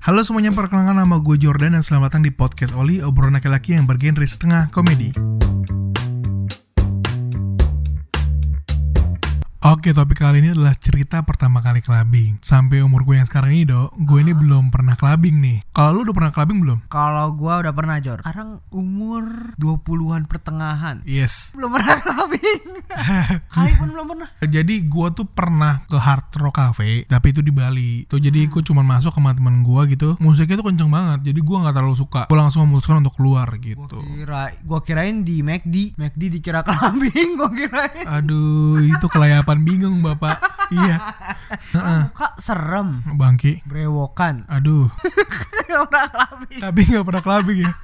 Halo semuanya, perkenalkan nama gue Jordan dan selamat datang di podcast Oli, obrolan laki-laki yang bergenre setengah komedi. Oke, topik kali ini adalah cerita pertama kali clubbing. Sampai umur gue yang sekarang ini, gue ini belum pernah clubbing nih. Kalau lu udah pernah clubbing belum? Kalau gue udah pernah, Jor. Sekarang umur 20-an pertengahan. Yes. Belum pernah clubbing. Kali pun belum pernah. Jadi gue tuh pernah ke Hard Rock Cafe, tapi itu di Bali. Tuh jadi gue cuma masuk sama teman gue gitu. Musiknya tuh kenceng banget, jadi gue nggak terlalu suka. Gue langsung memutuskan untuk keluar gitu. Gue kirain di McD dikira clubbing. Gue kirain. Aduh, itu kelayapan bingung bapak. Iya. Kak serem. Bangki. Brewokan. Aduh. Gak pernah clubbing. Tapi nggak pernah clubbing ya.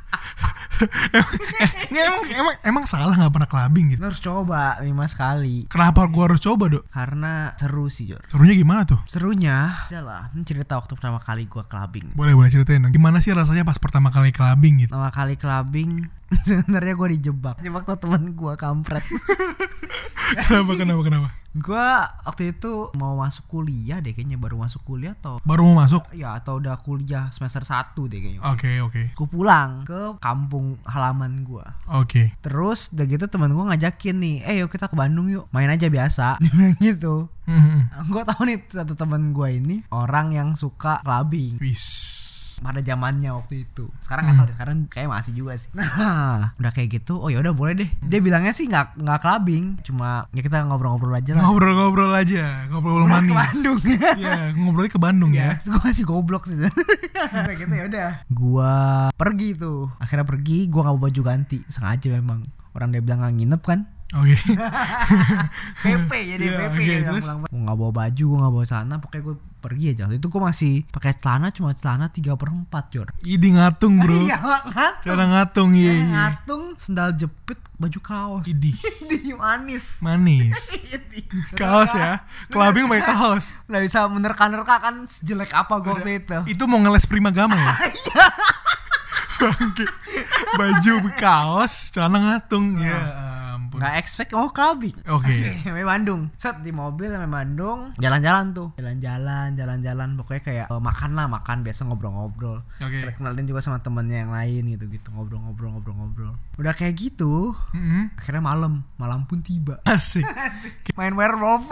emang salah nggak pernah clubbing gitu. Lu harus coba 5 sekali. Kenapa gue harus coba, Dok? Karena seru sih, Jor. Serunya gimana tuh? Serunya adalah cerita waktu pertama kali gue clubbing. Boleh ceritain dong. Gimana sih rasanya pas pertama kali clubbing gitu? Pertama kali clubbing sebenarnya gue dijebak sama temen gue, kampret. Kenapa? Gue waktu itu mau masuk kuliah deh kayaknya, baru masuk kuliah atau baru mau masuk? Ya, atau udah kuliah semester 1 deh kayaknya. Oke. Gue pulang ke kampung halaman gue. Oke. Terus udah gitu teman gue ngajakin nih, yuk kita ke Bandung yuk, main aja biasa. Dia bilang gitu. Gue tahu nih satu teman gue ini orang yang suka clubbing. Wis. Pada zamannya waktu itu. Sekarang nggak tahu deh, sekarang kayak masih juga sih. Nah, udah kayak gitu, oh ya udah boleh deh. Dia bilangnya sih nggak clubbing, cuma ya kita ngobrol-ngobrol aja lah. Ngobrol aja, ngobrol manis. Ke Bandung. Iya, ngobrolnya ke Bandung ya. Gue masih goblok sih. Udah gitu ya udah. Gue pergi tuh. Akhirnya pergi, gue nggak bawa baju ganti, sengaja memang. Orang dia bilang nggak nginep kan. Oke. PP jadi PP dia bilang. Gue nggak bawa baju, gue nggak bawa celana, pokoknya gue pergi aja. Itu gue masih pakai celana, cuma celana 3/4, Jor. Idi ngatung, bro. Iya, ngatung. Cara ngatung, iya. Ngatung, sendal jepit, baju kaos. Idi manis. Kaos ya. Clubbing pakai kaos. Nggak bisa menerka-nerka kan, sejelek apa gue waktu itu. Itu mau ngeles Primagama ya? Iya. Bangke. Baju kaos, celana ngatung. Ya. Nggak expect clubbing. Oke. Sampai Bandung. Set di mobil sampai Bandung. Jalan-jalan tuh. Jalan-jalan. Pokoknya kayak makan biasa ngobrol-ngobrol. Oke. Kenalin juga sama temennya yang lain gitu. Ngobrol-ngobrol. Udah kayak gitu. Akhirnya malam pun tiba. Asik. Main werewolf.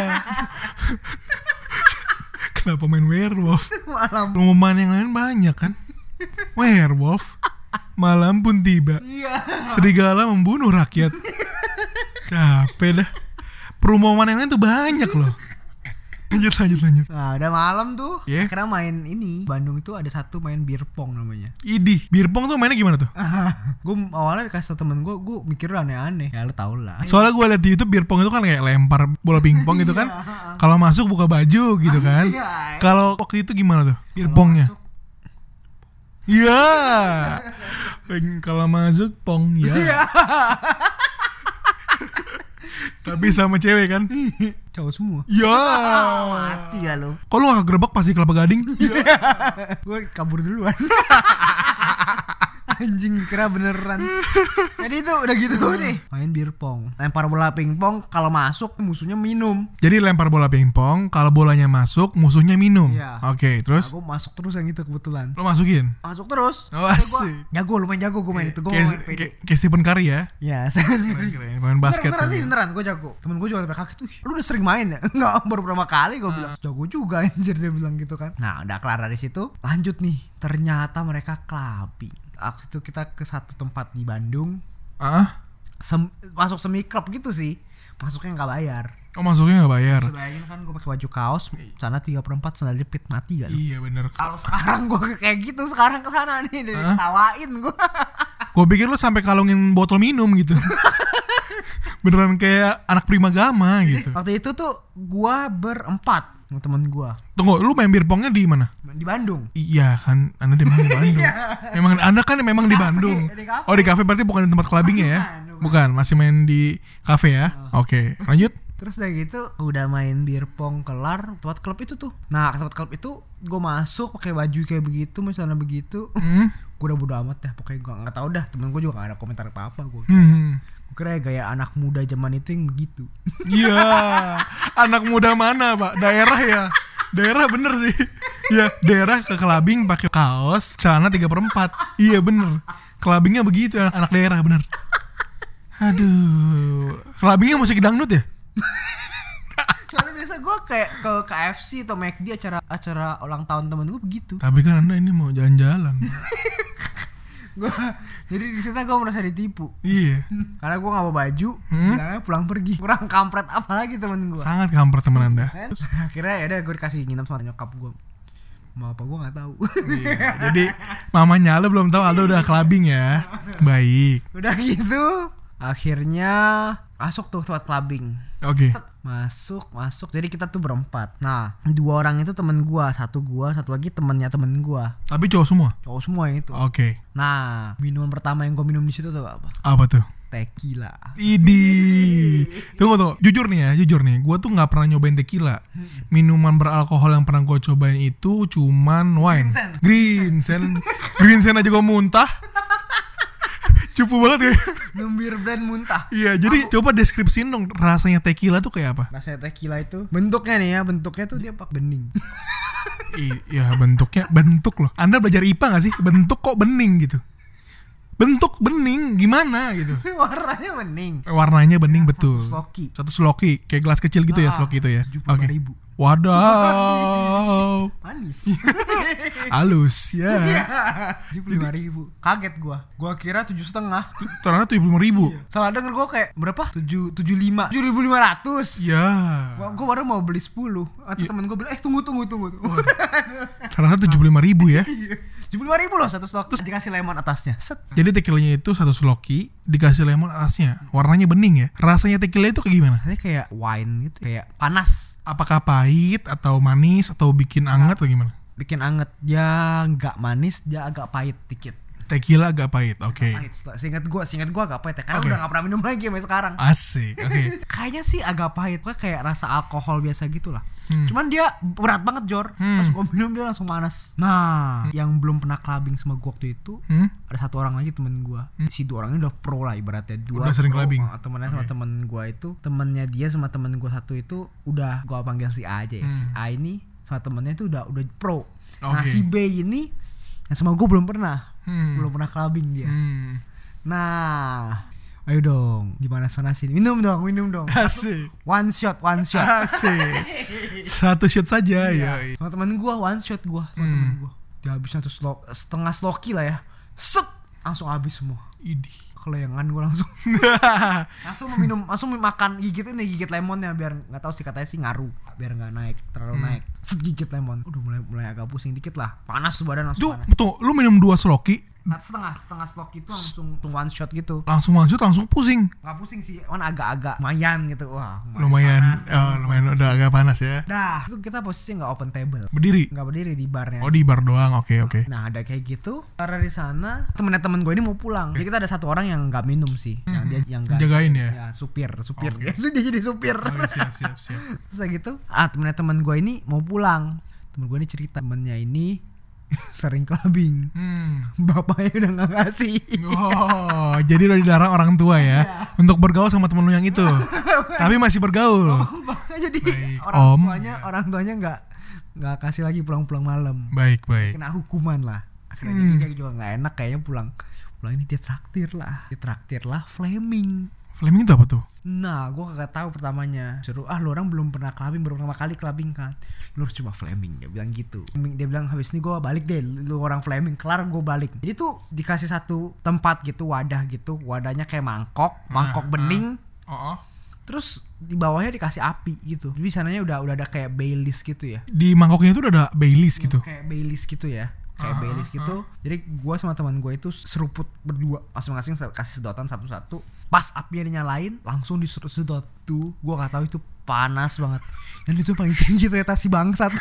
Kenapa main werewolf? Malam. Rumah yang lain banyak kan? Werewolf. Malam pun tiba. Iya. Serigala membunuh rakyat. Capek dah. Perumahan yang lain tuh banyak loh. Lanjut. Nah udah malam tuh. Yeah. Akhirnya main ini. Bandung itu ada satu main beer pong namanya. Idih. Beer pong tuh mainnya gimana tuh? Gue awalnya dikasih tau temen gue mikir aneh-aneh. Ya lo tau lah. Soalnya gue liat di YouTube beer pong itu kan kayak lempar bola pingpong gitu kan. Kalau masuk buka baju gitu kan. Kalau waktu itu gimana tuh beer pongnya? Iya. Kalau masuk pong ya. Tapi sama cewek kan? Cowok semua. Ya. Mati ya lo. Kok lu gak kegerebek pas di Kelapa Gading? Gue kabur duluan. Anjing, kira beneran. Jadi itu udah gitu nih. Main beer pong, lempar bola pingpong, kalau masuk musuhnya minum. Jadi lempar bola pingpong, kalau bolanya masuk musuhnya minum. Iya. Oke, terus? Aku masuk terus yang itu kebetulan. Lo masukin? Masuk terus. Oh, asik. Lumayan jago gue main itu. Gue main pede. Kayak Stephen Curry ya? Ya. Keren, main basket. Beneran gue jago. Temen gue juga sampai kaget. Lu udah sering main ya? Enggak, baru pertama kali gue bilang. Jago juga anjir, dia bilang gitu kan. Nah udah kelar dari situ, lanjut nih. Ternyata mereka clubbing. Waktu itu kita ke satu tempat di Bandung. Masuk semi club gitu sih. Masuknya gak bayar. Oh, masuknya gak bayar. Bayangin kan gue pakai baju kaos, sana 3/4 sandal jepit, mati gak? Iya bener. Kalau sekarang gue kayak gitu, sekarang kesana nih ditawain gue. Gue pikir lu sampai kalungin botol minum gitu. Beneran kayak anak Primagama gitu. Waktu itu tuh gue berempat sama temen gue. Tunggu, lu main beer pongnya di mana? Di Bandung. Iya kan, Anda di Bandung. Memang Anda kan memang di Bandung. Oh, di kafe berarti bukan di tempat clubbingnya ya? Bukan, masih main di kafe ya? Oke, lanjut. Terus udah gitu udah main beer pong kelar, tempat klub itu tuh. Nah tempat klub itu gue masuk pakai baju kayak begitu, misalnya begitu. Gue udah bodo amat dah, pokoknya gue nggak tahu dah. Temen gue juga nggak ada komentar apa gue kira gaya anak muda zaman itu yang begitu. Iya. Anak muda mana, Pak? Daerah ya? Daerah bener sih. Ya, daerah ke clubbing pakai kaos, celana 3/4. Iya bener. Clubbingnya begitu anak daerah bener. Aduh. Clubbingnya musik dangdut ya? Soalnya biasa gue kayak ke KFC atau McD acara ulang tahun temen gue begitu. Tapi kan Anda ini mau jalan-jalan. Jadi di sana gue merasa ditipu. Iya. Karena gue nggak bawa baju, bilangnya pulang pergi. Kurang kampret apa lagi temen gue. Sangat kampret teman Anda. Akhirnya ya udah gue dikasih nginep sama nyokap gue. Mau apa gue nggak tahu. Iya. Jadi mamanya Aldo belum tahu Aldo udah clubbing ya. Baik. Udah gitu, akhirnya masuk tuh tempat clubbing. Oke. Masuk. Jadi kita tuh berempat. Nah, 2 orang itu temen gua, satu lagi temennya temen gua. Tapi cowok semua. Cowok semua yang itu. Oke. Nah, minuman pertama yang gua minum di situ tuh apa? Apa tuh? Tequila. Idi. Tunggu. Jujur nih. Gua tuh nggak pernah nyobain tequila. Minuman beralkohol yang pernah gua cobain itu cuman wine. Green Sen aja gua muntah. Cupu banget ya. Numbir brand muntah. Iya, jadi coba deskripsiin dong rasanya tequila tuh kayak apa? Rasanya tequila itu bentuknya nih ya, bentuknya tuh dia pakai bening. Iya, bentuk loh. Anda belajar IPA gak sih? Bentuk kok bening gitu. Bentuk bening gimana gitu. Warnanya bening. Warnanya bening betul. Satu sloki. 1 sloki, kayak gelas kecil gitu ya, sloki itu ya. 75.000. Wadaw. Manis. Halus ya. 75.000. Kaget gua kira 7,5. Ternyata 75.000. Salah denger gua kayak berapa? 775. 7.500. Ya. Gua baru mau beli 10. Atau temen gua bilang tunggu. Ternyata 75.000 ya. 75.000 loh satu slok. Terus dikasih lemon atasnya. Set. Jadi tequilanya itu 1 sloki dikasih lemon atasnya. Warnanya bening ya. Rasanya tequila itu kayak gimana? Rasanya kayak wine gitu, kayak panas. Apakah pahit atau manis atau bikin anget atau gimana? Bikin anget. Ya nggak manis, dia agak pahit dikit. Tequila agak pahit, oke. Pahit. Seingat gua agak pahit ya. Karena udah nggak pernah minum lagi sampai sekarang. Asik, oke. Kayaknya sih agak pahit, kayak rasa alkohol biasa gitu lah. Cuman dia berat banget Jor. Pas gua minum dia langsung panas. Nah, yang belum pernah clubbing sama gua waktu itu, ada 1 orang lagi temen gua. Si 2 orang ini udah pro lah ibaratnya. 2 udah sering clubbing. Temennya sama temen gua itu, temennya dia sama temen gua satu itu udah gua panggil si A aja ya. Si A ini sama temennya itu udah pro. Nah, si B ini yang sama gua belum pernah clubbing dia. Nah, ayo dong, dipanas-panasin. Minum dong. Asik. One shot. Asik. 1 shot saja ya. Sama temen gue, one shot gue sama temen gue. Dia habis setengah sloki lah ya. Set, langsung habis semua. Idih. Keleangan gue langsung makan, gigit lemonnya biar nggak tahu sih, katanya sih ngaruh biar nggak terlalu naik. Set, gigit lemon, udah mulai agak pusing dikit lah, panas badan langsung. Tuh, lu minum 2 sloki. Setengah sloki itu langsung one shot gitu. Langsung pusing. Nggak pusing sih, kan agak lumayan gitu. Wah, lumayan udah agak panas ya. Dah, itu kita posisi nggak open table. Nggak berdiri di barnya. Oh, di bar doang, oke. Nah, ada kayak gitu. Karena di sana temen gue ini mau pulang. Jadi kita ada 1 orang yang nggak minum sih. Yang dia yang jagain ya. Ya, supir. Okay. Dia jadi supir. Siap. Terus gitu, temen gue ini mau pulang. Temen gue ini cerita temennya ini sering clubbing. Bapaknya udah gak ngasih. Oh, jadi udah dilarang orang tua ya untuk bergaul sama temen lu yang itu. Tapi masih bergaul. Jadi baik, orang tuanya nggak kasih lagi pulang malam. Baik. Kena hukuman lah. Akhirnya dia juga nggak enak kayaknya pulang ini dia traktir lah Flaming. Flaming itu apa tuh? Nah, gue kagak tahu pertamanya. Seru, lu orang belum pernah clubbing, baru pertama kali clubbing kan. Lu harus coba Flaming, dia bilang gitu. Dia bilang habis ini gue balik deh, lu orang Flaming, kelar gue balik. Jadi tuh dikasih 1 tempat gitu, wadah gitu, wadahnya kayak mangkok bening. Terus di bawahnya dikasih api gitu. Jadi sananya udah ada kayak Baileys gitu ya. Di mangkoknya itu udah ada Baileys gitu. Kayak Baileys gitu ya. Baileys gitu. Jadi gue sama teman gue itu seruput berdua, masing-masing kasih sedotan satu-satu. Pas apinya dinyalain, langsung disedot tuh. Gue gak tahu itu panas banget. Dan itu paling tinggi ternyata si bangsat.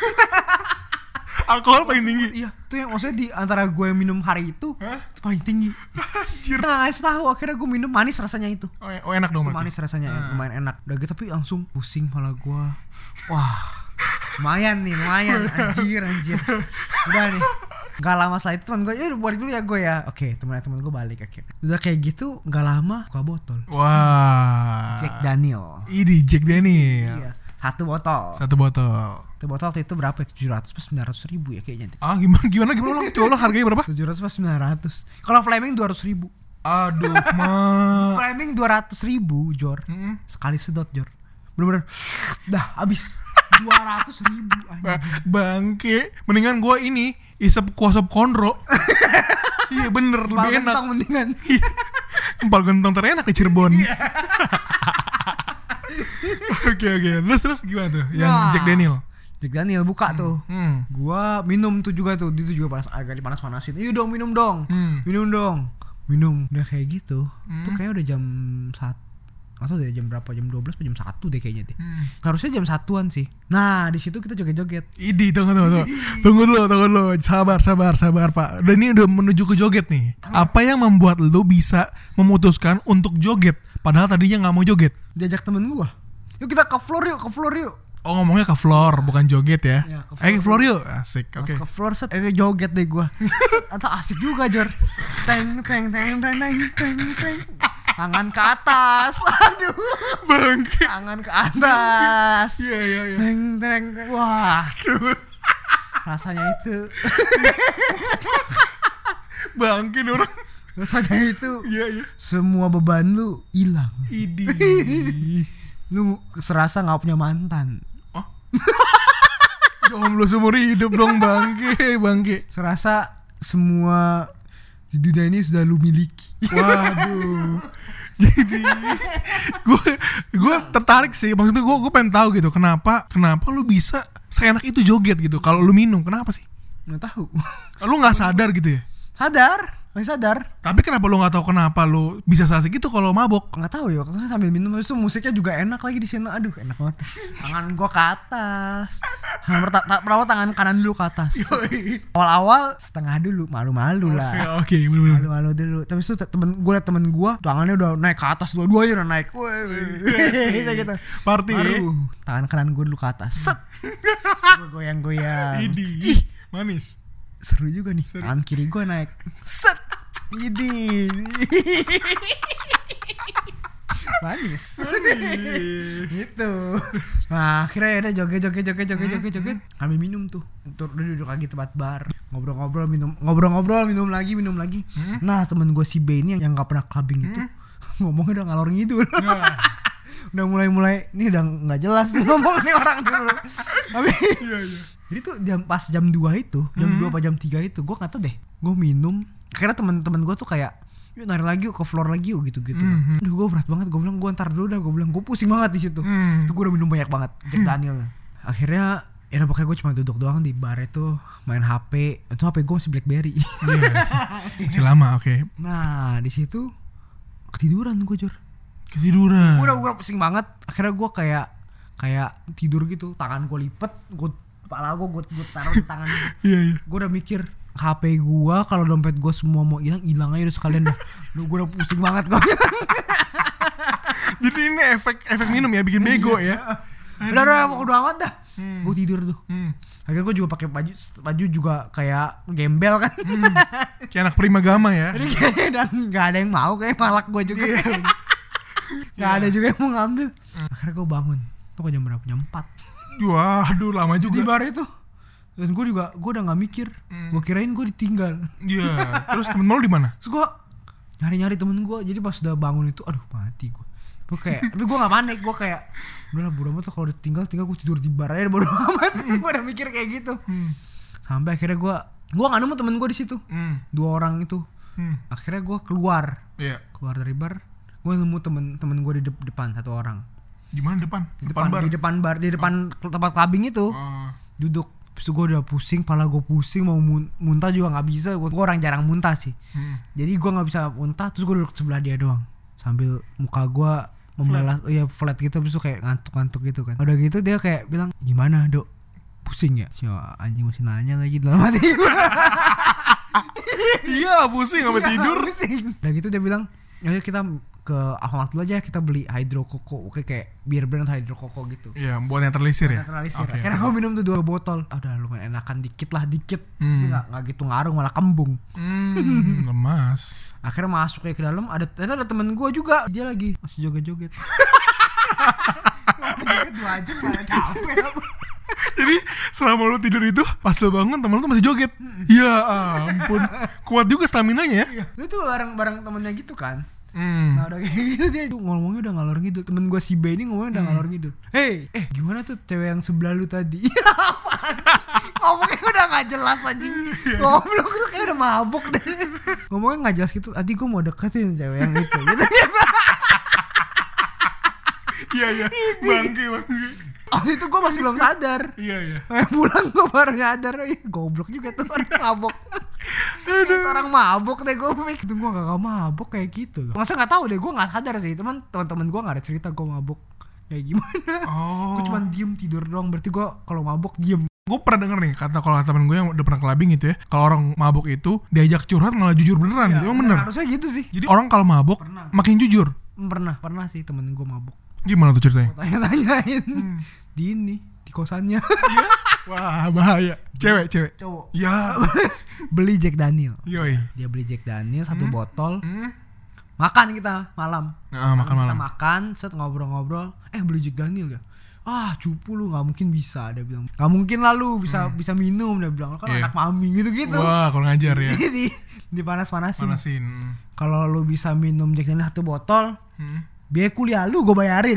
Alkohol paling tinggi. Iya, itu yang maksudnya di antara gue yang minum hari itu paling tinggi. Nah, tahu akhirnya gue minum, manis rasanya itu. Oh, enak dong. Itu manis rasanya, lumayan enak. Udah gitu tapi langsung pusing kepala gue. Wah, lumayan anjir. Udah nih. Gak lama setelah itu teman gue, balik dulu ya gue ya. Oke, temen gue balik akhirnya. Udah kayak gitu, gak lama buka botol. Wah. Jack Daniel. Ini Jack Daniel. Iya. Satu botol. Satu botol. Satu botol waktu itu berapa? 700 pas 900 ribu ya kayaknya. Ah gimana lo coba lo harganya berapa? 700 pas 900. Kalau Flaming 200 ribu. Aduh mah. Flaming 200 ribu Jor. Sekali sedot Jor. Bener-bener dah habis 200 ribu Bangke. Mendingan gue ini isep kuasap konro. Iya bener lebih enak. Mendingan. Empal gentong terenak di Cirebon. Oke. Terus gimana tuh? Yang Jack Daniel buka tuh. Gua minum tuh juga tuh. Itu juga agak dipanas-panasin. Iya dong minum dong. Minum. Udah kayak gitu. Tuh kayak udah jam 1 atau udah jam berapa? Jam 12 atau jam 1 deh kayaknya deh. Harusnya jam 1-an sih. Nah, di situ kita joget-joget. Idi, tunggu dulu. Sabar Pak. Dan ini udah menuju ke joget nih. Apa yang membuat lo bisa memutuskan untuk joget padahal tadinya enggak mau joget? Diajak temen gua. Yuk kita ke floor yuk. Oh, ngomongnya ke floor, bukan joget ya? Ya ke floor yuk. Asik, oke. Ke floor set, joget deh gua. Atau asik juga, Jor. Teng. Tangan ke atas. Aduh. Bangke. Tangan ke atas. Iya. Teng. Wah. Rasanya itu. Bangke nih orang. Rasanya itu. Iya. Semua beban lu hilang. Idi. Lu serasa enggak punya mantan. Oh. Jomblo seumur hidup dong bangke. Serasa semua di dunia ini sudah lu miliki. Waduh. Jadi gue tertarik sih, maksudnya gue pengen tahu gitu kenapa lu bisa seenak itu joget gitu kalau lu minum, kenapa sih? Nggak tahu. Lu nggak sadar gitu ya? Masih sadar. Tapi kenapa lu nggak tahu kenapa lu bisa asik gitu kalau mabok? Nggak tahu ya, karena sambil minum itu musiknya juga enak lagi di sini. Aduh, enak banget. Tangan gua ke atas. Pertama tangan kanan dulu ke atas. Awal-awal setengah dulu, malu-malu lah. Oke, bener-bener. Malu-malu dulu. Tapi itu temen gua tangannya udah naik ke atas, dua-duanya udah naik. Gitu. Party. Tangan kanan gua dulu ke atas. Set. Goyang-goyang. Ih, manis. Seru juga nih. Tangan kiri gue naik. Set. Ini. Manis. Gitu. Nah, akhirnya udah joget. Ambil minum tuh. Duduk lagi tempat bar. Ngobrol-ngobrol, minum lagi. Nah, temen gue si B ini yang gak pernah clubbing itu ngomongnya udah ngalor ngidul. Udah mulai ini udah nggak jelas nih ngomong nih orang dulu. Tapi jadi tuh jam 2 itu, jam 2 apa jam 3 itu, gue nggak tahu deh. Gue minum, akhirnya teman-teman gue tuh kayak, yuk nari lagi yuk ke floor lagi yuk gitu kan. Aduh gue berat banget, gue bilang gue ntar dulu dah, gue pusing banget di situ. Itu gue udah minum banyak banget, Jack Daniel. Akhirnya ya pokoknya gue cuma duduk doang di bar itu, main HP. Itu HP gue masih BlackBerry. Masih lama, oke. Nah di situ ketiduran gue Jor. Ketiduran. Gue pusing banget. Akhirnya gue kayak tidur gitu. Tangan gue lipet, kepala gue taruh di tangan. Iya. Gue udah mikir HP gue kalau dompet gue semua mau hilang aja udah sekalian dah. Gue udah pusing banget gue. Jadi ini efek minum ya, bikin bego ya. Udah amat dah. Gue tidur tuh. Akhirnya gue juga pakai baju juga kayak gembel kan. Kayak anak primagama ya. Jadi kayaknya nggak ada yang mau, kayak malak gue juga. Nggak ada juga yang mau ngambil. Akhirnya gue bangun. Tuh jam berapa? Jam 4. Waduh lama juga. Di bar itu. Dan gue udah nggak mikir. Gue kirain gue ditinggal. Iya. Terus temen lu di mana? Terus gue nyari temen gue. Jadi pas udah bangun itu, aduh mati gue. Gue kayak, tapi gue nggak panik. Gue kayak, udah lah bodo amat lah, kalau udah tinggal gue tidur di bar aja bodo amat. Gue udah mikir kayak gitu. Sampai akhirnya gue nggak nemu temen gue di situ. 2 orang itu. Akhirnya gue keluar dari bar. Gue nemu temen gue di depan 1 orang. Di mana depan? Bar. Di depan bar, di depan tempat clubbing itu. Duduk. Terus gue udah pusing, pala gue pusing, mau muntah juga nggak bisa. Gue orang jarang muntah sih. Jadi gue nggak bisa muntah. Terus gue duduk sebelah dia doang, sambil muka gue membelah, flat gitu. Terus kayak ngantuk gitu kan. Udah gitu dia kayak bilang, gimana dok? Pusing ya? Anjing masih nanya lagi dalam hati gue. Iya pusing sampai tidur. Udah gitu dia bilang, ayo kita ke Alfamart dulu aja, kita beli Hydro Coco. Oke, kayak beer brand Hydro Coco gitu. Iya, buat netralisir ya? Netralisir. Okay. Akhirnya gue minum tuh 2 botol. Udah lumayan enakan dikit. Tapi gak gitu ngaruh, malah kembung. Lemas. Akhirnya masuk kayak ke dalam, ternyata ada temen gue juga. Dia lagi masih joget-joget. Joget 2 jam malah capek apa. Jadi selama lu tidur itu pas lu bangun temen lu tuh masih joget. Ya ampun. Kuat juga staminanya ya. Itu bareng temennya gitu kan. Nah udah kayak gitu dia ngomongnya udah ngalor ngidul. Temen gue si B ini ngomongnya udah ngalor ngidul. Gimana tuh cewek yang sebelah lu tadi? Ngomongnya udah gak jelas anjing. Goblok tuh kayak udah mabuk deh. Ngomongnya gak jelas gitu. Tadi gue mau deketin cewek yang itu gitu. Iya bangke. Waktu itu gue masih belum sadar. Iya Pulang gue baru nyadar. Goblok juga tuh orang mabuk. Orang mabuk deh gue mikir. Gue gak mabuk kayak gitu loh. Masa gak tahu deh, gue gak sadar sih. Teman-teman gue gak ada cerita gue mabuk kayak gimana. Gue cuma diem tidur doang. Berarti gue kalau mabuk diem. Gue pernah denger nih kata kalau temen gue yang udah pernah clubbing gitu ya, kalau orang mabuk itu diajak curhat malah jujur beneran gitu. Emang bener? Harusnya gitu sih. Jadi orang kalau mabuk makin jujur. Pernah sih temen gue mabuk. Gimana tuh ceritanya? Tanya-tanyain di kosannya. Wah bahaya. Cewek Cowok. Ya. Beli Jack Daniel. Yoi. Dia beli Jack Daniel 1 botol. Makan kita malam. Makan malam. Kita makan, set ngobrol-ngobrol. Beli Jack Daniel ya. Cupu lu gak mungkin bisa. Dia bilang gak mungkin lah lu bisa minum. Dia bilang kan anak mami gitu-gitu. Wah kalau ngajar ya. Dipanas-panasin. Kalau lu bisa minum Jack Daniel 1 botol, biaya kuliah lu gue bayarin.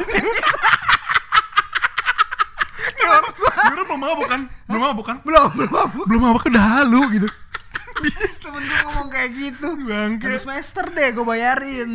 Belum mabuk kan? Belum mabuk udah halu gitu. Temen gue ngomong kayak gitu. Bangke. 1 semester deh gue bayarin.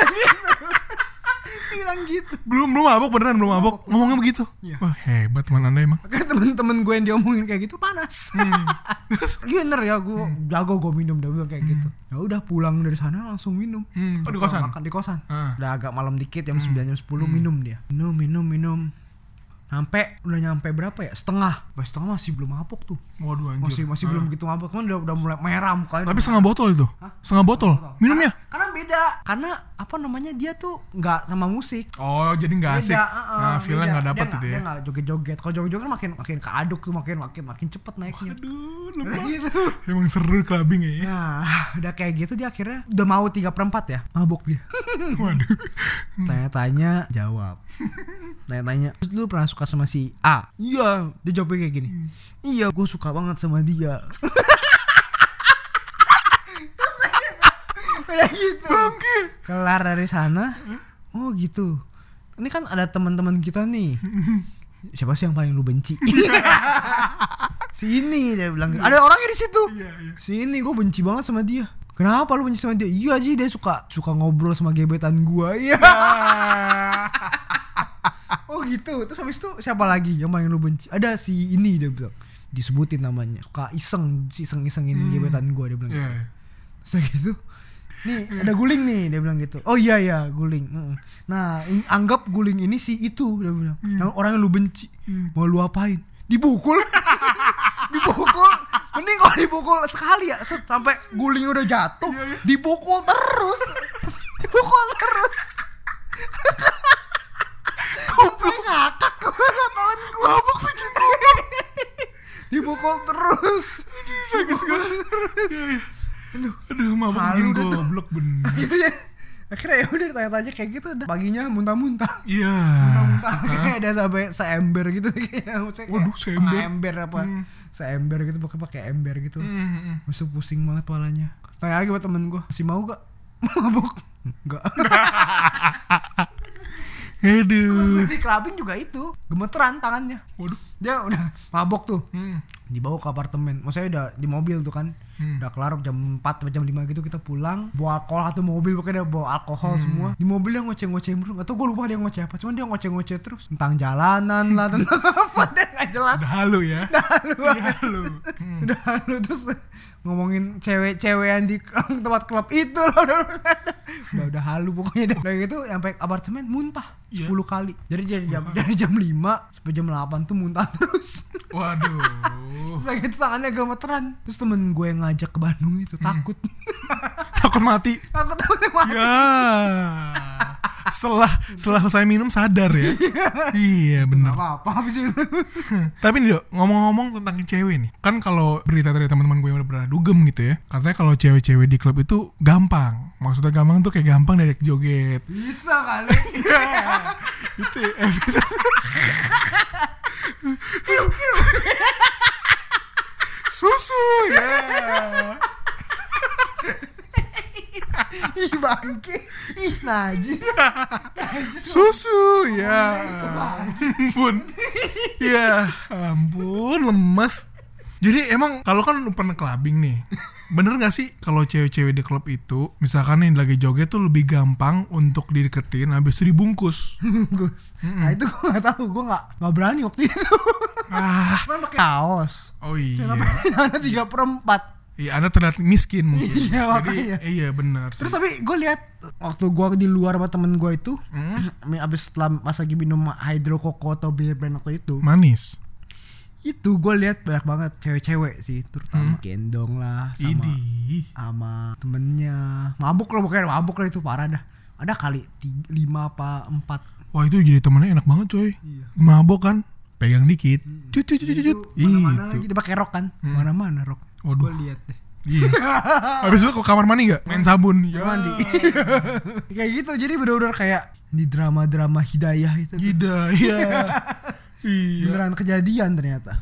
Bilang gitu. Belum mabuk beneran belum mabuk. Ngomongnya begitu. Iya. Wah hebat teman Anda emang. Kayak temen-temen gue yang diomongin kayak gitu panas. Bener ya gue jago gue minum dia bilang kayak gitu. Ya udah pulang dari sana langsung minum. Di kosan. Makan di kosan. Udah agak malam dikit jam 9 jam 10 minum dia. Minum. Udah nyampe berapa ya? Setengah masih belum mabuk tuh. Waduh anjir. Masih belum gitu mabuk kan udah mulai merah mukanya. Tapi setengah botol itu. Setengah botol. Minumnya. Karena beda. Karena apa namanya dia tuh nggak sama musik. Oh jadi nggak asik. Feelnya nggak dapet gitu ya. Dia nggak joget-joget. Kalau joget-joget kan makin keaduk tuh makin cepet naiknya. Aduh lemah. Gitu. Emang seru clubbing ya. Nah udah kayak gitu dia akhirnya udah mau 3/4 ya mabuk dia. Waduh. Tanya-tanya jawab. Tanya-tanya terus lu pernah suka sama si A? Iya. Dia jawabnya kayak gini. Iya gue suka banget sama dia. Udah gitu. Kelar dari sana. Oh gitu. Ini kan ada teman-teman kita nih. Siapa sih yang paling lu benci? Si ini dia bilang. Ada orangnya di situ. Si ini gue benci banget sama dia. Kenapa lu benci sama dia? Iya Ji dia suka ngobrol sama gebetan gue. Iya. Oh gitu. Terus habis itu siapa lagi yang paling lu benci? Ada si ini dia bilang. Disebutin namanya. Suka iseng-isengin gebetan gue dia bilang. Terus gitu. Nih ada guling nih dia bilang gitu. Oh iya guling. Nah anggap guling ini si itu dia bilang. Yang orang yang lu benci. Mau lu apain? Dipukul. Mending kalau dipukul sekali ya sampai guling udah jatuh. Dipukul terus. Goblok ngakak gue sama temen gue. Mabuk bikin goblok. Dipukul terus. Aduh mabuk bikin goblok bener. Akhirnya ya udah ditanya-tanya kayak gitu udah paginya muntah-muntah. Iya. Muntah-muntah kayak ada sampai seember gitu kayak. Waduh seember. Ember apa? Seember gitu pakai ember gitu. Masuk pusing banget palanya. Tanya lagi buat temen gue, masih mau gak mabuk? Enggak. Aduh. Di clubbing juga itu gemeteran tangannya. Waduh. Dia udah mabok tuh. Dibawa ke apartemen. Maksudnya udah di mobil tuh kan. Udah kelar jam 4 atau jam 5 gitu kita pulang. Bawa alkohol atau mobil pokoknya dia bawa alkohol semua. Di mobil dia ngoceh-ngoceh terus. Gak tau gue lupa dia ngoceh apa. Cuman dia ngoceh-ngoceh terus tentang jalanan lah, tentang apa dia gak jelas. Udah halu ya. Udah halu terus ngomongin cewek-cewek yang di tempat klub itu loh. Udah halu pokoknya. Udah gitu sampai apartemen muntah 10 kali. Jadi dari jam 5 sampai jam 8 tuh muntah terus. Waduh. Terus lagi itu tangannya gemeteran. Terus temen gue yang ngajak ke Bandung itu takut. Takut mati. Takut mati. Ya. Setelah selesai minum sadar ya. Iya benar. Apa habis itu. Tapi nih Dok, ngomong-ngomong tentang cewek nih. Kan kalau berita dari teman-teman gue yang udah pernah dugem gitu ya. Katanya kalau cewek-cewek di klub itu gampang. Maksudnya gampang tuh kayak gampang diajak joget. Bisa kali. Itu episode susu ya. Ih bangke. Ih najis. Susu ya. Ampun. Ya ampun lemas. Jadi emang kalau kan lu pernah clubbing nih, bener gak sih kalau cewek-cewek di klub itu misalkan nih lagi joget tuh lebih gampang untuk dideketin habis itu dibungkus? Bungkus. Nah itu gue gak tahu, gue gak berani waktu itu. Kan pakai kaos. Oh iya. Ada 3/4. Iya, Anda terlihat miskin mungkin. Iya, jadi iya benar. Terus tapi gue lihat waktu gue di luar sama temen gue itu, abis setelah pas lagi minum hydro koko atau beer brand waktu itu, manis. Itu gue lihat banyak banget cewek-cewek sih, terutama gendong lah sama temennya, mabuk lah pokoknya, mabuk lah itu parah dah. Ada kali 5 apa 4. Wah itu jadi temennya enak banget coy. Iya. Mabok kan, pegang dikit, cut. Mana-mana lagi dia pakai rok kan, mana-mana rok. Waduh. Gue lihat deh. Iya. Habis itu ke kamar mandi nggak? Main sabun. Ya. Mandi. Kayak gitu, jadi bener-bener kayak di drama-drama hidayah itu. Hidayah. Iya. Beneran kejadian ternyata.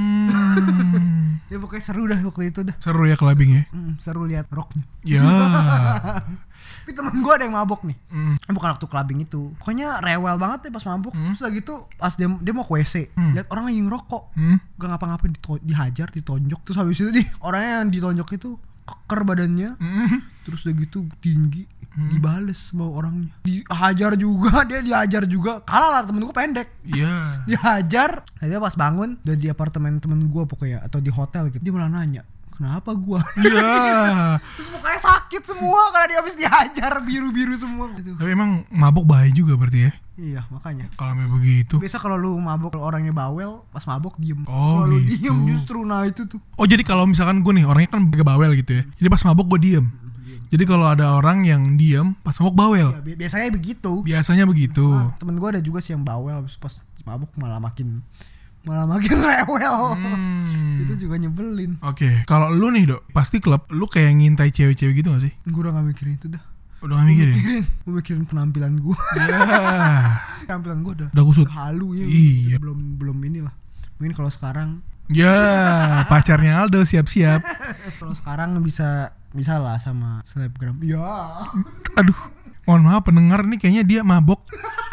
Ya pokoknya seru dah waktu itu dah. Seru ya clubbing ya. Seru lihat roknya. Ya. Tapi temen gue ada yang mabok nih. Bukan waktu clubbing itu. Pokoknya rewel banget deh pas mabok. Terus lagi tuh pas dia mau ke WC, lihat orang lagi ngerokok. Gak ngapa-ngapain dihajar, ditonjok. Terus habis itu orangnya yang ditonjok itu keker badannya. Terus udah gitu tinggi. Dibales sama orangnya, dihajar juga, kalah lah, temen gue pendek. Iya. Dihajar, dia pas bangun udah di apartemen temen gue pokoknya atau di hotel gitu, dia malah nanya kenapa gue. Iya. Terus mukanya sakit semua karena dia habis dihajar, biru semua gitu. Tapi emang mabok bahaya juga berarti ya. Iya makanya. Kalau begitu. Biasa kalau lu mabok, kalau orangnya bawel, pas mabok diem. Oh kalau gitu. Diem justru, nah itu tuh. Oh jadi kalau misalkan gue nih orangnya kan bawel gitu ya. Jadi pas mabok gue diem. Jadi kalau ada orang yang diem pas mabok bawel. Ya, biasanya begitu. Nah, temen gue ada juga sih yang bawel, pas mabok malah makin rewel. Itu juga nyebelin. Oke. Kalau lu nih Dok, pasti klub lu kayak ngintai cewek-cewek gitu gak sih? Gue udah gak mikirin itu dah. Udah gak mikirin? Gue mikirin penampilan gue. Penampilan gue udah kusut. Halu ya. Iya. Belum inilah. Mungkin kalau sekarang. Ya pacarnya Aldo siap-siap. Kalau sekarang bisa lah sama selebgram. Ya. Aduh. Mohon maaf pendengar nih kayaknya dia mabok.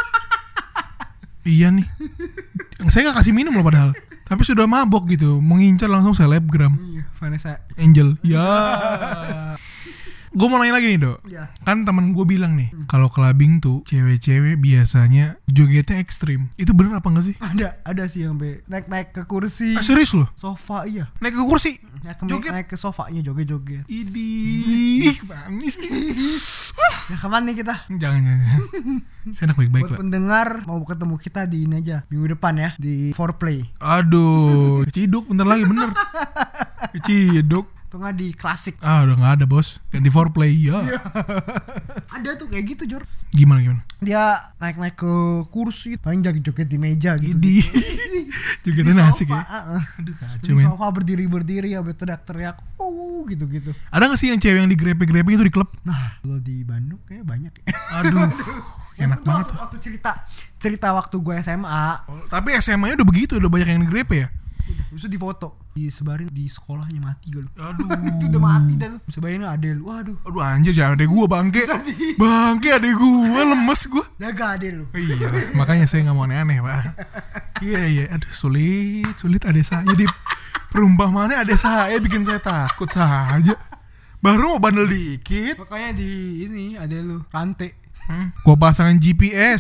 Iya nih. Saya gak kasih minum loh padahal. Tapi sudah mabok gitu. Mengincar langsung selebgram. Iya. Vanessa Angel. Ya. Gue mau nanya lagi nih Dok. Ya. Kan temen gue bilang nih, kalau clubbing tuh cewek-cewek biasanya jogetnya ekstrim. Itu bener apa gak sih? Ada sih yang naik ke kursi. Serius loh? Sofa iya. Naik ke kursi? Naik ke sofanya joget-joget. Idih, manis nih. Ya kapan nih kita? Jangan. Saya enak baik-baik buat Pak. pendengar mau ketemu kita di ini aja minggu depan ya di Foreplay. Aduh, Ciduk bentar lagi bener. Ciduk. Tuh nggak di klasik. Udah nggak ada bos. Ganti Foreplay ya. Ada tuh kayak gitu Jor. Gimana? Dia naik ke kursi, paling joget di meja gitu. Idih. Jogetnya asik ya. Aduh kacau men. Di sofa berdiri ya, teriak-teriak. Gitu. Ada nggak sih yang cewek yang digrepe-grepe itu di klub? Nah, kalau di Bandung kayak banyak ya. Aduh. Enak banget. Waktu cerita waktu gue SMA. Tapi SMA-nya udah begitu, udah banyak yang digrepe ya. Bisa difoto, disebarin di sekolahnya, mati gak lu? Aduh. Itu udah mati dah lu. Bisa bayangin adek lu. Aduh anjir, jangan adek gua bangke. Bangke adek gua, lemes gua. Jaga adek lu. Iya, makanya saya gak mau aneh-aneh Pak. Iya. Aduh sulit adek saya. Jadi perumpamaannya adek saya bikin saya takut saja. Baru mau bandel dikit. Makanya di ini adek lu rantai. Gua pasangin GPS.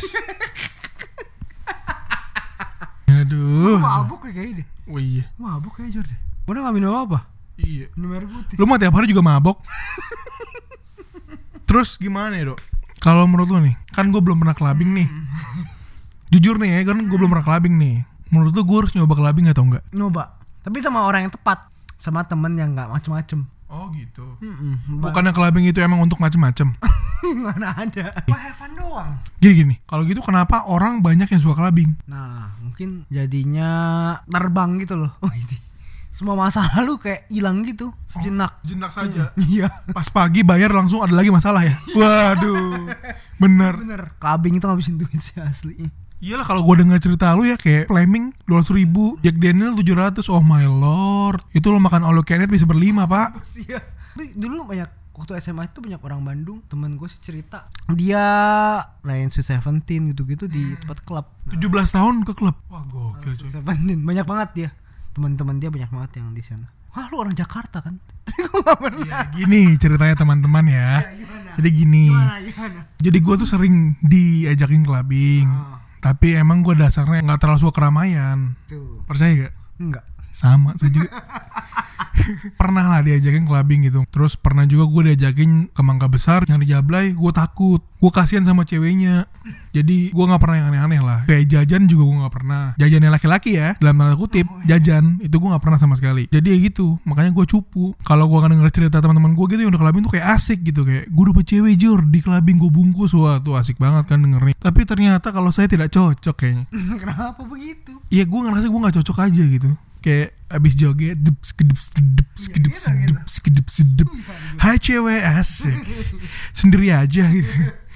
Aduh. Lu mabuk kayak deh. Oh iya. Mabuk kayak Jor deh. Udah gak minum apa? Iya. Minum air putih. Lu mah tiap hari juga mabok. Terus gimana ya Dok? Kalau menurut lu nih, kan gue belum pernah clubbing nih. Jujur nih ya, kan gue belum pernah clubbing nih. Menurut lu gue harus nyoba clubbing atau enggak? Nyoba. Tapi sama orang yang tepat. Sama temen yang gak macem-macem. Oh gitu. Bukannya clubbing itu emang untuk macem-macem? Mana ada. Wah have fun doang. Gini. Kalau gitu kenapa orang banyak yang suka clubbing? Nah mungkin jadinya terbang gitu loh. Oh ini. Semua masa lalu kayak hilang gitu. Sejenak. Jenak saja. Iya. Pas pagi bayar langsung ada lagi masalah ya. Waduh. Bener. Clubbing itu ngabisin duit sih asli. Iyalah kalau gue dengar cerita lu ya kayak Fleming 200.000, Jack Daniel 700, oh my lord. Itu lo makan all you can eat bisa berlima pak. Iya. Tapi dulu banyak waktu SMA itu banyak orang Bandung, temen gue sih cerita dia main Sweet Seventeen gitu-gitu di tempat klub. 17 tahun ke klub. Wah gokil coy. Seventeen banyak banget dia. Teman-teman dia banyak banget yang di sana. Wah lu orang Jakarta kan? Gue gak pernah. Ya gini ceritanya teman-teman ya. Jadi gini. Gimana? Jadi gue tuh sering diajakin clubbing. Tapi emang gue dasarnya gak terlalu suka keramaian. Tuh. Percaya gak? Enggak. Sama saya juga. Pernah lah diajakin clubbing gitu. Terus pernah juga gue diajakin ke Mangga Besar yang di Jablay. Gue takut, gue kasihan sama ceweknya. Jadi gue gak pernah yang aneh-aneh lah. Kayak jajan juga gue gak pernah. Jajannya laki-laki ya, dalam tanda kutip. Jajan, itu gue gak pernah sama sekali. Jadi ya gitu, makanya gue cupu. Kalau gue denger cerita teman-teman gue gitu yang udah clubbing tuh kayak asik gitu. Kayak gue dapet cewek jur, di clubbing gue bungkus. Wah tuh asik banget kan dengerin. Tapi ternyata kalau saya tidak cocok kayaknya. Kenapa begitu? Iya gue ngerasa gue gak cocok aja gitu. Kayak abis joget sedep. Hai cewek asik. Sendiri aja gitu.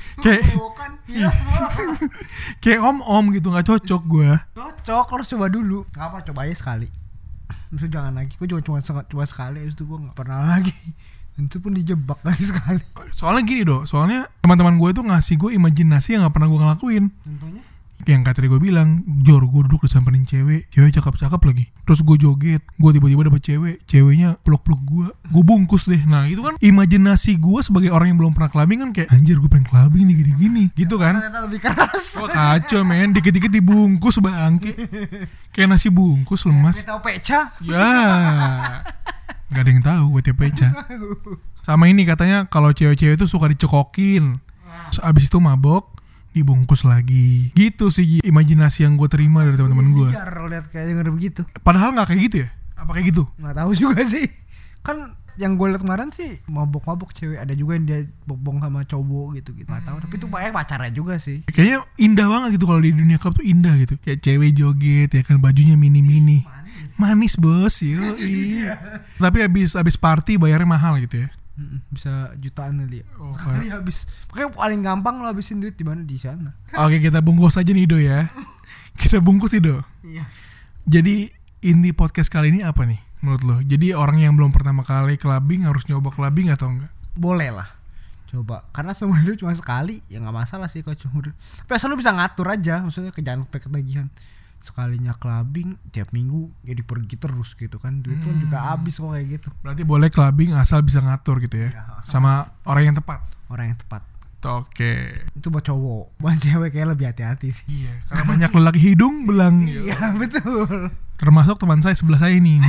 Kayak om gitu, nggak cocok gue. Cocok, harus coba dulu. Ngapa, coba aja sekali. Terus jangan lagi. Gue cuma sekali, habis itu gue nggak pernah lagi. Itu pun dijebak lagi sekali. Soalnya gini soalnya teman-teman gue itu ngasih gue imajinasi yang nggak pernah gue ngelakuin. Contohnya? Yang kata gue bilang, Jor gue duduk disamperin cewek cakep-cakep lagi. Terus gue joget, gue tiba-tiba dapet ceweknya peluk-peluk gue bungkus deh. Nah itu kan imajinasi gue sebagai orang yang belum pernah clubbing kan kayak anjir gue pengen clubbing nih gini-gini gitu kan. Ternyata lebih keras. Wah kacau men, dikit-dikit dibungkus bangke. Kayak nasi bungkus lemas. Tahu peca? Ya, gak ada yang tahu gue peca. Sama ini katanya kalau cewek-cewek itu suka dicekokin. Terus abis itu mabok, dibungkus lagi. Gitu sih imajinasi yang gue terima dari teman-teman gue. Biar lihat kayak denger begitu. Padahal nggak kayak gitu ya? Apa kayak gitu? Nggak tahu juga sih. Kan yang gue lihat kemarin sih mabok-mabok cewek, ada juga yang dia bobong sama cowok gitu. Nggak tahu. Tapi itu banyak pacarnya juga sih. Kayaknya indah banget gitu kalau di dunia klub tuh indah gitu. Kayak cewek joget ya kan, bajunya mini-mini. Manis bos, yuk. Iya. Tapi abis party bayarnya mahal gitu ya. Bisa jutaan kali ya. Sekali habis. Makanya paling gampang lo habisin duit di mana, di sana. Oke, kita bungkus aja nih Do ya. Kita bungkus nih Do. Iya. Jadi inti podcast kali ini apa nih menurut lo? Jadi orang yang belum pertama kali clubbing harus nyoba clubbing atau enggak? Boleh lah. Coba. Karena seumur hidup cuma sekali, ya enggak masalah sih kalau seumur hidup. Tapi asal lo bisa ngatur aja, maksudnya jangan sampai ketagihan. Sekalinya clubbing tiap minggu jadi pergi terus gitu kan, duit kan juga habis kok kayak gitu. Berarti boleh clubbing asal bisa ngatur gitu ya, sama orang yang tepat. Orang yang tepat. Oke. Itu buat cowok, buat cewek kayak lebih hati-hati sih. Iya, karena banyak lelaki hidung belang. Iya betul. Termasuk teman saya sebelah saya ini.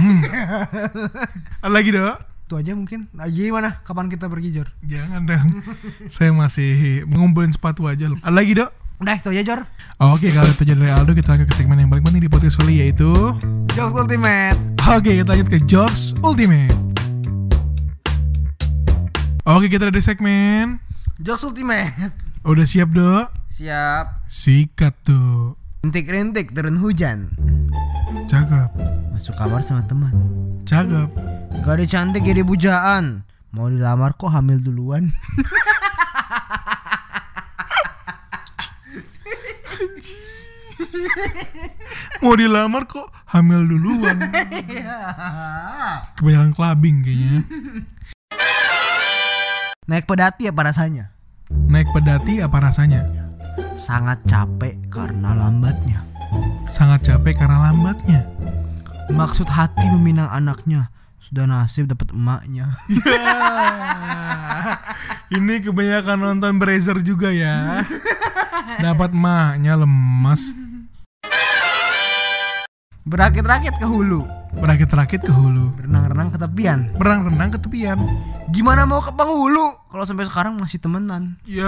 Ada lagi Do? Itu aja mungkin. Nah, gimana? Kapan kita pergi Jor? Jangan dong. Saya masih ngumpulin sepatu aja loh. Ada lagi Do? Udah itu aja Jor. Oke, kalau itu aja dari Aldo, kita lanjut ke segmen yang paling penting di podcast kali, yaitu Jokes Ultimate. Oke, kita lanjut ke Jokes Ultimate. Oke, kita ada di segmen Jokes Ultimate. Udah siap Do? Siap. Sikat tuh. Rintik-rintik turun hujan. Cakep. Masuk kamar sama teman. Cakep. Gadis cantik jadi bujaan. Mau dilamar kok hamil duluan. Mau dilamar kok hamil duluan. Kebanyakan clubbing kayaknya. Naik pedati apa rasanya? Naik pedati apa rasanya? Sangat capek karena lambatnya. Sangat capek karena lambatnya. Maksud hati meminang anaknya, sudah nasib dapat emaknya. Ini kebanyakan nonton Brazzer juga ya. Dapat emaknya lemas. Berakit-rakit ke hulu. Berakit-rakit ke hulu. Berenang-renang ke tepian. Berenang-renang ke tepian. Gimana mau ke penghulu kalau sampai sekarang masih temenan? Ya.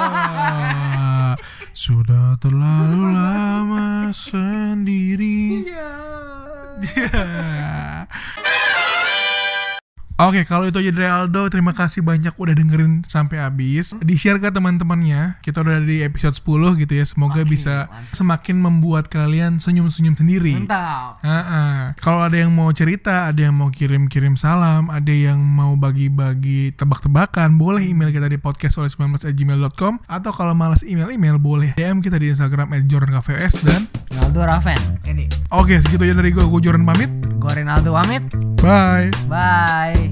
Sudah terlalu lama sendiri. Ya. Oke, kalau itu aja dari Aldo. Terima kasih banyak udah dengerin sampai habis. Di-share ke teman-temannya. Kita udah di episode 10 gitu ya. Semoga bisa semakin membuat kalian senyum-senyum sendiri. Mantap. Kalau ada yang mau cerita, ada yang mau kirim-kirim salam, ada yang mau bagi-bagi tebak-tebakan, boleh email kita di podcast19@gmail.com. Atau kalau malas email boleh DM kita di Instagram @jordankvs dan Ronaldo Raven. Oke, segitu aja dari gue Jordan pamit. Gue Ronaldo pamit. Bye. Bye.